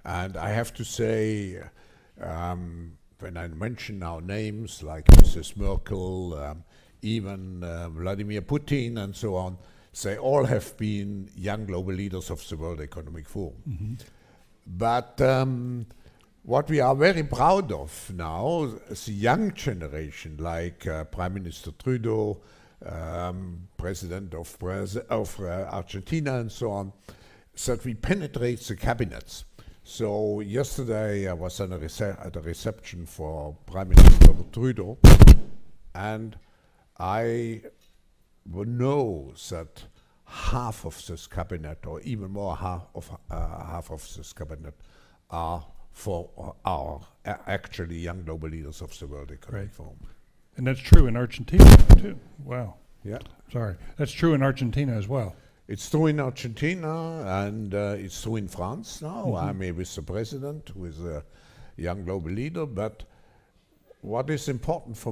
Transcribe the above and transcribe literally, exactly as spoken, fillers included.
And I have to say, um, when I mention now names like Missus Merkel, um, even uh, Vladimir Putin and so on, they all have been young global leaders of the World Economic Forum. Mm-hmm. But um, what we are very proud of now, the young generation, like uh, Prime Minister Trudeau, um, President of, Braz of uh, Argentina and so on, that we penetrate the cabinets. So yesterday I was at a, rece at a reception for Prime Minister Trudeau, and I know that half of this cabinet, or even more half of uh, half of this cabinet, are for uh, our uh, actually young global leaders of the World Economic Right. Forum. And that's true in Argentina too. Wow. Yeah, Sorry. That's true in Argentina as well. it's true in Argentina, and uh, it's true in France now. Mhm. I'm here with the president, who is a young global leader. But what is important for